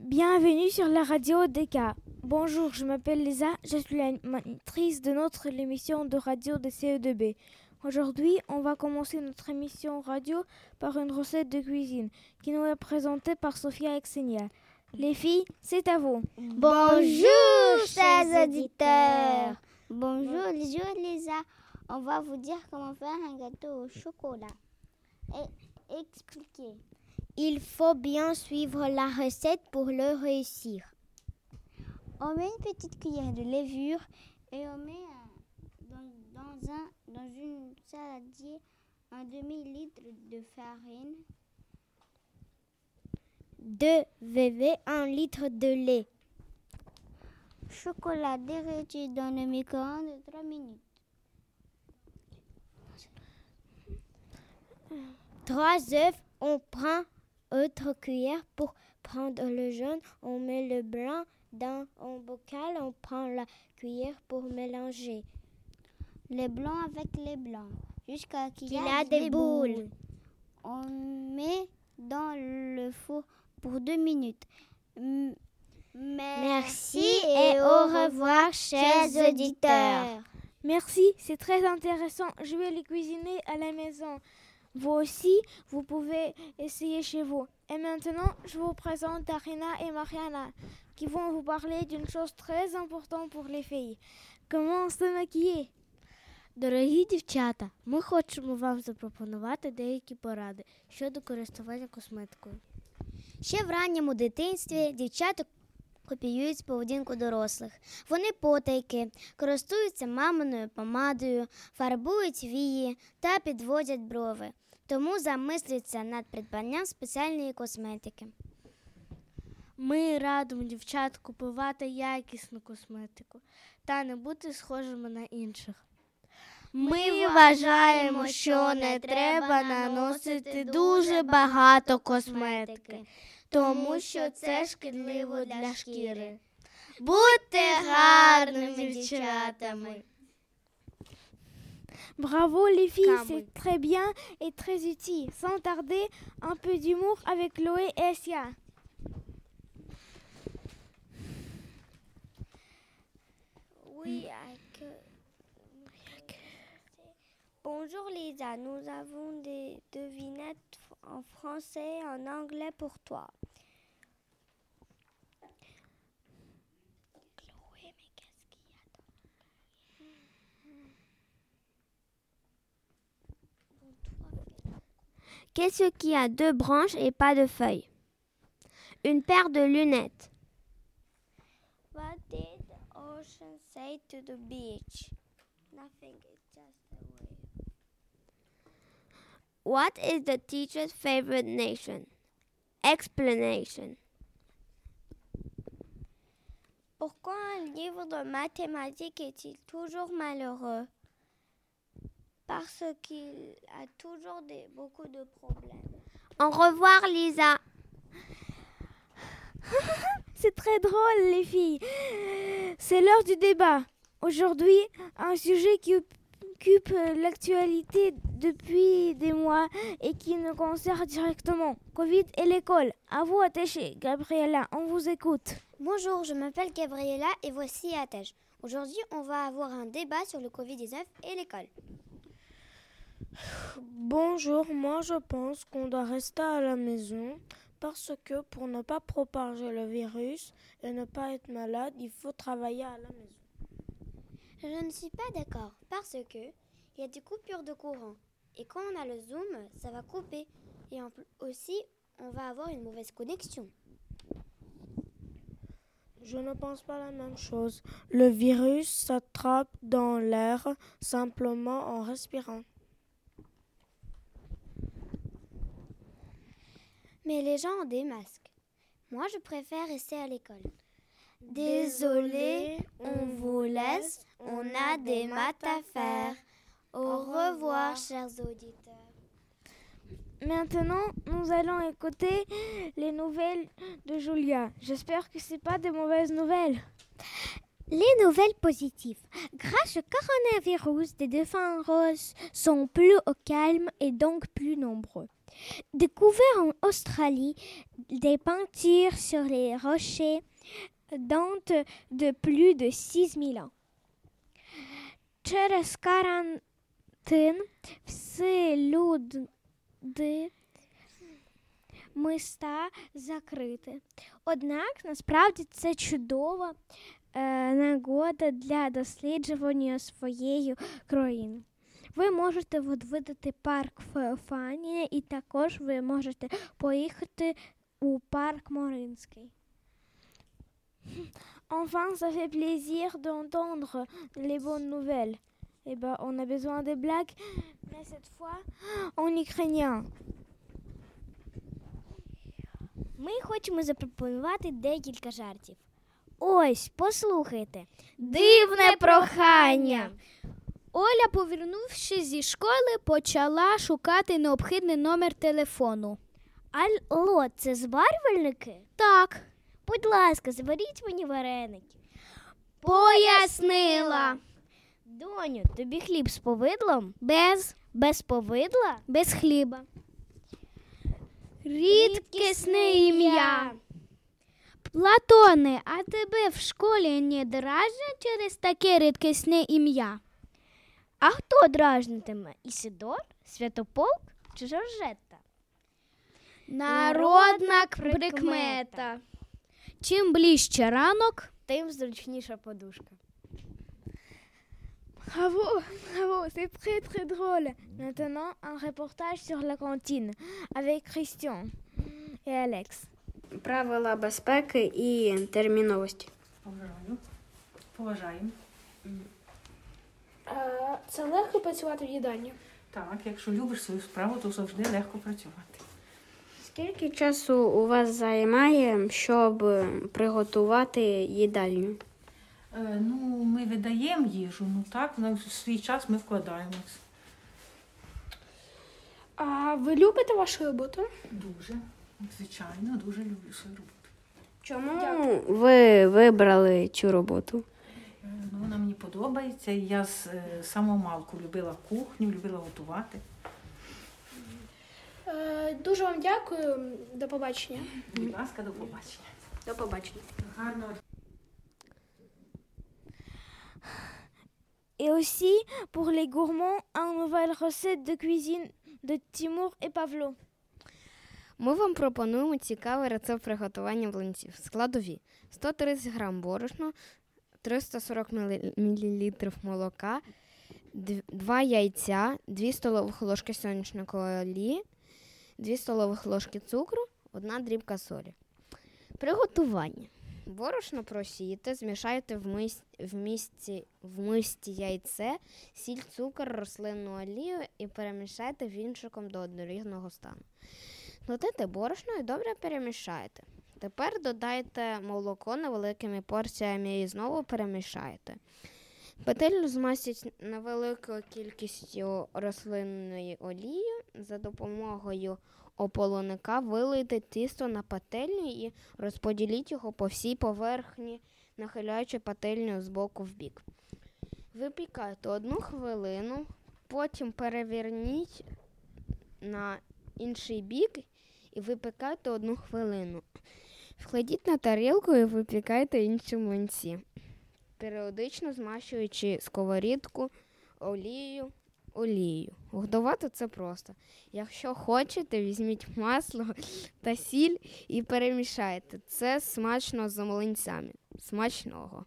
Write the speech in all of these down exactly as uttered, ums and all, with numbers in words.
Bienvenue sur la radio D K. Bonjour, je m'appelle Lisa, je suis l'animatrice de notre émission de radio de C E deux B. Aujourd'hui, on va commencer notre émission radio par une recette de cuisine qui nous est présentée par Sophia et Xenia. Les filles, c'est à vous. Bonjour, chers auditeurs. Bonjour, bonjour Lisa. On va vous dire comment faire un gâteau au chocolat. Et expliquer. Il faut bien suivre la recette pour le réussir. On met une petite cuillère de levure et on met un, dans, dans, un, dans une saladier un demi-litre de farine, deux V V, un litre de lait. Chocolat derreti dans le micro-ondes de trois minutes. Trois œufs, on prend autre cuillère pour prendre le jaune, on met le blanc dans un bocal, on prend la cuillère pour mélanger. Les blancs avec les blancs, jusqu'à qu'il y a des, des boules. boules. On met dans le four pour deux minutes. M- Merci et au revoir, chers auditeurs. Merci, c'est très intéressant. Je vais les cuisiner à la maison. Vous aussi, vous pouvez essayer chez vous. Et maintenant, je vous présente Arina et Mariana, qui vont vous parler d'une chose très importante pour les filles. Comment se maquiller? Дорогі дівчата, ми хочемо вам запропонувати деякі поради щодо користування косметикою. Ще в ранньому дитинстві дівчата копіюють поведінку дорослих. Вони потайки, користуються маминою помадою, фарбують вії та підводять брови. Тому замислюються над придбанням спеціальної косметики. Ми радимо дівчат купувати якісну косметику та не бути схожими на інших. Ми вважаємо, що не треба наносити дуже багато косметики, тому що це шкідливо для шкіри. Будьте гарними дівчатами. Bravo les filles, c'est très bien et très utile. Sans tarder, un peu d'humour avec Chloé et Sia. Oui, avec... Bonjour Lisa, nous avons des devinettes en français et en anglais pour toi. Chloé, mais qu'est-ce qu'il y a dans... Qu'est-ce qui a deux branches et pas de feuilles? Une paire de lunettes. What did the ocean say to the beach? Nothing, it's just a wave. What is the teacher's favorite nation? Explanation. Pourquoi un livre de mathématiques est-il toujours malheureux? Parce qu'il a toujours des, beaucoup de problèmes. Au revoir, Lisa. C'est très drôle, les filles. C'est l'heure du débat. Aujourd'hui, un sujet qui occupe l'actualité depuis des mois et qui nous concerne directement. Covid et l'école. À vous, attachée. Gabriella, on vous écoute. Bonjour, je m'appelle Gabriella et voici Attache. Aujourd'hui, on va avoir un débat sur le covid dix-neuf et l'école. Bonjour, moi je pense qu'on doit rester à la maison parce que pour ne pas propager le virus et ne pas être malade, il faut travailler à la maison. Je ne suis pas d'accord parce que il y a des coupures de courant et quand on a le Zoom, ça va couper et en plus aussi on va avoir une mauvaise connexion. Je ne pense pas la même chose. Le virus s'attrape dans l'air simplement en respirant. Mais les gens ont des masques. Moi, je préfère rester à l'école. Désolé, on vous laisse. On a des maths à faire. Au revoir, chers auditeurs. Maintenant, nous allons écouter les nouvelles de Julia. J'espère que ce n'est pas des mauvaises nouvelles. Les nouvelles positives. Grâce au coronavirus, les dauphins roses sont plus au calme et donc plus nombreux. Découvert en Australie, des peintures sur les rochers datent de plus de six mille ans. Через карантин всі люди міста закриті. Однак, насправді, це чудова е, нагода для досліджування своєї країни. Ви можете відвідати парк Феофанія і також ви можете поїхати у парк Маринський. Enfin, ça fait plaisir d'entendre les bonnes nouvelles. Eh ben, on a besoin des blagues, mais cette fois en ukrainien. Ми хочемо запропонувати декілька жартів. Ось, послухайте. Дивне прохання. Оля, повернувшись зі школи, почала шукати необхідний номер телефону. Алло, це зварювальники? Так. Будь ласка, зваріть мені вареники. Пояснила. Доню, тобі хліб з повидлом? Без. Без повидла? Без хліба. Рідкісне ім'я. Платоне, а тебе в школі не дражнять через таке рідкісне ім'я? А хто дражнитиме? Ісидор, Святополк чи Жоржетта? Народна прикмета. Чим ближче ранок, тим зручніша подушка. Bravo, bravo, c'est très très drôle. Maintenant, un reportage sur la cantine avec Christian et Alex. Правила безпеки і терміновості. Поважаю. Поважаємо. Це легко працювати в їдальні? Так, якщо любиш свою справу, то завжди легко працювати. Скільки часу у вас займає, щоб приготувати їдальню? Е, ну, ми видаємо їжу, ну так, на свій час ми вкладаємось. А ви любите вашу роботу? Дуже, звичайно, дуже люблю свою роботу. Чому Дякую. ви вибрали цю роботу? Е, ну, вона мені подобається, і я з е, самого малку любила кухню, любила готувати. Е, дуже вам дякую, до побачення. Будь ласка, до побачення. До побачення. Гарного. Et aussi, pour les gourmands, une nouvelle recette de cuisine de Тимур et Павло. Ми вам пропонуємо цікавий рецепт приготування млинців. Складові: сто тридцять грам борошна, триста сорок мілілітрів молока, два яйця, дві столових ложки соняшникової олії, дві столових ложки цукру, одна дрібка солі. Приготування. Борошно просійте, змішайте в, мис... в, мисці... в мисці яйце, сіль, цукор, рослинну олію і перемішайте вінчиком до однорідного стану. Додайте борошно і добре перемішайте. Тепер додайте молоко невеликими порціями і знову перемішайте. Петелю змастіть невеликою кількістю рослинної олії. За допомогою ополоника вилийте тісто на пательню і розподіліть його по всій поверхні, нахиляючи пательню з боку в бік. Випікайте одну хвилину, потім переверніть на інший бік і випікайте одну хвилину. Вкладіть на тарілку і випікайте інші млинці, періодично змащуючи сковорідку олією. олією. Готувати це просто. Якщо хочете, візьміть масло та сіль і перемішайте. Це смачно з млинцями. Смачного!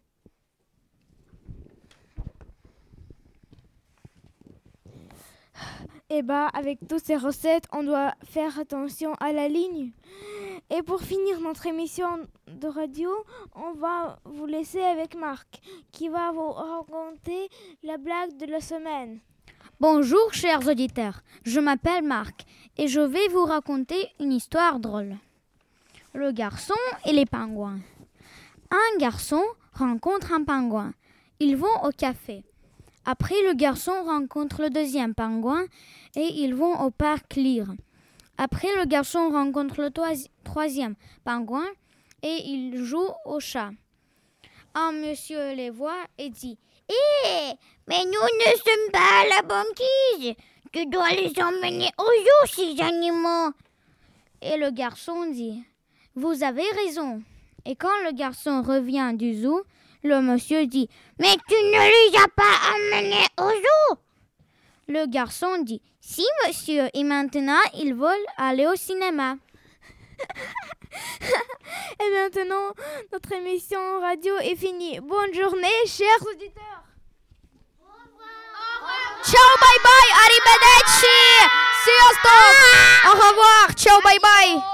Et bah, avec toutes ces recettes, on doit faire attention à la ligne. Et pour finir notre émission de radio, on va vous laisser avec Marc, qui va vous raconter la blague de la semaine. Bonjour chers auditeurs, je m'appelle Marc et je vais vous raconter une histoire drôle. Le garçon et les pingouins. Un garçon rencontre un pingouin. Ils vont au café. Après, le garçon rencontre le deuxième pingouin et ils vont au parc lire. Après, le garçon rencontre le toi- troisième pingouin et il joue au chat. Un monsieur les voit et dit « Hé, mais nous ne sommes pas à la banquise. tu dois les emmener au zoo, ces animaux. Et le garçon dit, vous avez raison. Et quand le garçon revient du zoo, le monsieur dit, mais tu ne les as pas emmenés au zoo. Le garçon dit, si monsieur, et maintenant ils veulent aller au cinéma. Et maintenant, notre émission radio est finie. Bonne journée, chers auditeurs. Ciao, bye bye, arrivederci. Sziasztok. Au revoir, ciao, bye bye.